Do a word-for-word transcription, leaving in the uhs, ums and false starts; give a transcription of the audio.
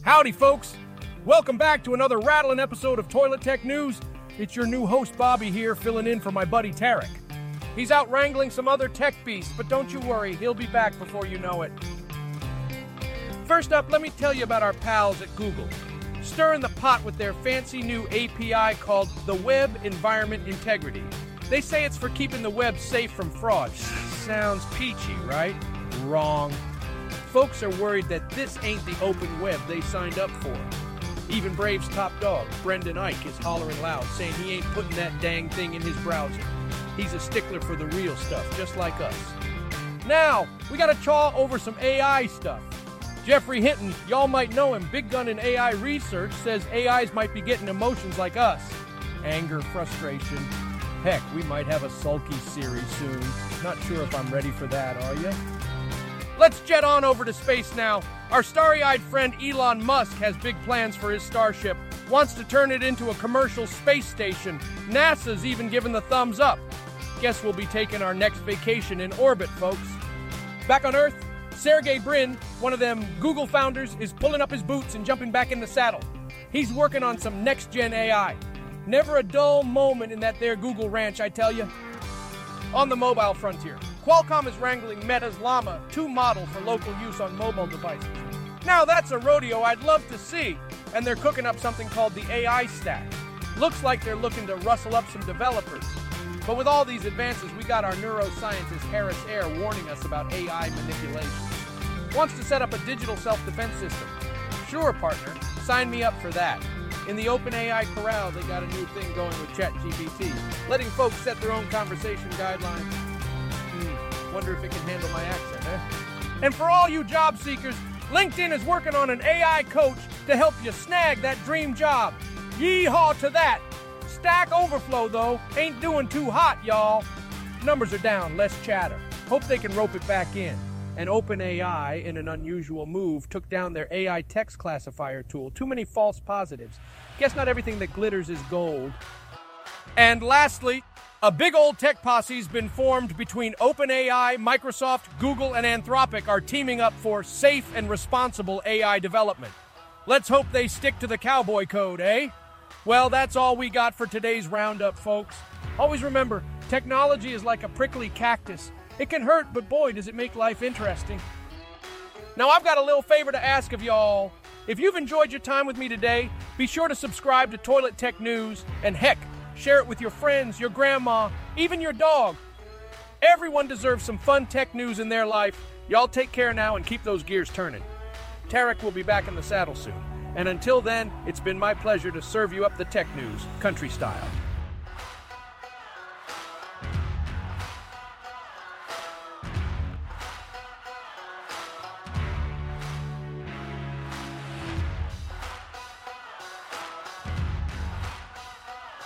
Howdy, folks. Welcome back to another rattling episode of Toilet Tech News. It's your new host, Bobby, here, filling in for my buddy, Tarek. He's out wrangling some other tech beasts, but don't you worry, he'll be back before you know it. First up, let me tell you about our pals at Google. Stirring the pot with their fancy new A P I called the Web Environment Integrity. They say it's for keeping the web safe from fraud. Sounds peachy, right? Wrong. Folks are worried that this ain't the open web they signed up for. Even Brave's top dog, Brendan Eich, is hollering loud, saying he ain't putting that dang thing in his browser. He's a stickler for the real stuff, just like us. Now, we gotta chaw over some A I stuff. Jeffrey Hinton, y'all might know him, big gun in A I research, says A Is might be getting emotions like us. Anger, frustration. Heck, we might have a sulky Siri soon. Not sure if I'm ready for that, are you? Let's jet on over to space now. Our starry-eyed friend Elon Musk has big plans for his Starship. Wants to turn it into a commercial space station. NASA's even given the thumbs up. Guess we'll be taking our next vacation in orbit, folks. Back on Earth, Sergey Brin, one of them Google founders, is pulling up his boots and jumping back in the saddle. He's working on some next-gen A I. Never a dull moment in that there Google ranch, I tell you. On the mobile frontier, Qualcomm is wrangling Meta's Llama two model for local use on mobile devices. Now that's a rodeo I'd love to see, and they're cooking up something called the A I stack. Looks like they're looking to rustle up some developers. But with all these advances, we got our neuroscientist Harris Air warning us about A I manipulation. Wants to set up a digital self-defense system. Sure, partner, sign me up for that. In the OpenAI corral, they got a new thing going with ChatGPT, letting folks set their own conversation guidelines. Hmm, wonder if it can handle my accent, eh? And for all you job seekers, LinkedIn is working on an A I coach to help you snag that dream job. Yeehaw to that! Stack Overflow, though, ain't doing too hot, y'all. Numbers are down, less chatter. Hope they can rope it back in. And OpenAI, in an unusual move, took down their A I text classifier tool. Too many false positives. Guess not everything that glitters is gold. And lastly, a big old tech posse's been formed between OpenAI, Microsoft, Google, and Anthropic are teaming up for safe and responsible A I development. Let's hope they stick to the cowboy code, eh? Well, that's all we got for today's roundup, folks. Always remember, technology is like a prickly cactus. It can hurt, but boy, does it make life interesting. Now, I've got a little favor to ask of y'all. If you've enjoyed your time with me today, be sure to subscribe to Toilet Tech News, and heck, share it with your friends, your grandma, even your dog. Everyone deserves some fun tech news in their life. Y'all take care now and keep those gears turning. Tarek will be back in the saddle soon. And until then, it's been my pleasure to serve you up the tech news, country style.